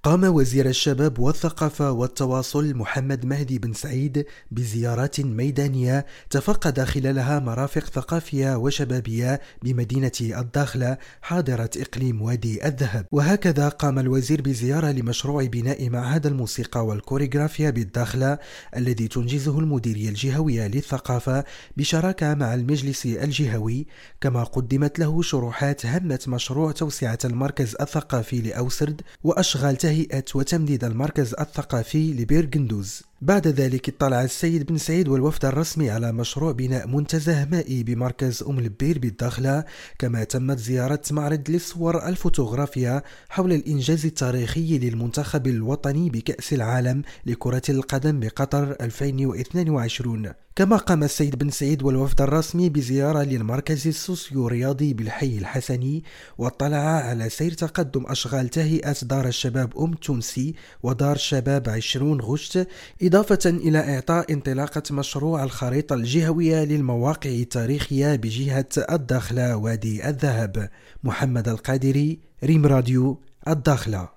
قام وزير الشباب والثقافة والتواصل محمد مهدي بن سعيد بزيارات ميدانية تفقد خلالها مرافق ثقافية وشبابية بمدينة الداخلة حاضرة إقليم وادي الذهب. وهكذا قام الوزير بزيارة لمشروع بناء معهد الموسيقى والكوريغرافيا بالداخلة الذي تنجزه المديرية الجهوية للثقافة بشراكة مع المجلس الجهوي، كما قدمت له شروحات هامة مشروع توسعة المركز الثقافي لأوسرد وأشغال تهيئة وتمديد المركز الثقافي لبيرغندوز. بعد ذلك اطلع السيد بن سعيد والوفد الرسمي على مشروع بناء منتزه مائي بمركز البير بالداخلة، كما تمت زيارة معرض للصور الفوتوغرافيا حول الإنجاز التاريخي للمنتخب الوطني بكأس العالم لكرة القدم بقطر 2022. كما قام السيد بن سعيد والوفد الرسمي بزيارة للمركز السوسيو رياضي بالحي الحسني، واطلع على سير تقدم أشغال تهيئة دار الشباب تونسي ودار شباب 20 غشت، إضافة إلى إعطاء انطلاقة مشروع الخريطة الجهوية للمواقع التاريخية بجهة الداخلة وادي الذهب. محمد القادري، ريم راديو، الداخلة.